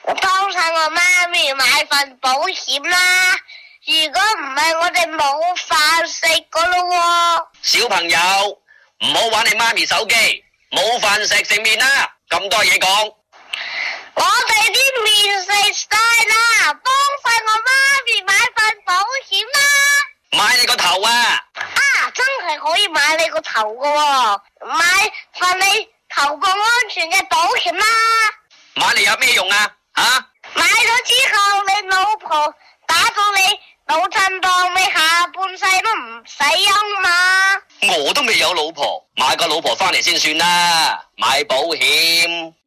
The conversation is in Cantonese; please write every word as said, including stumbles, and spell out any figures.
幫晒我媽咪買份保險啦，如果唔係我哋冇飯食噶咯喎。 小朋友，唔好玩你媽咪手機，冇飯食食麵啦，咁多嘢講。 我哋啲麵食晒啦，幫晒我媽咪買份保險啦。 買你個頭啊！ 啊，真係可以買你個頭噶喎，買份你頭部安全嘅保險啦。 買嚟有咩用啊？吓、啊？ 買咗之後，你老婆打到你腦震盪，你下半世都唔使憂嘛。 我都未有老婆，買個老婆翻嚟先算啦。買保險。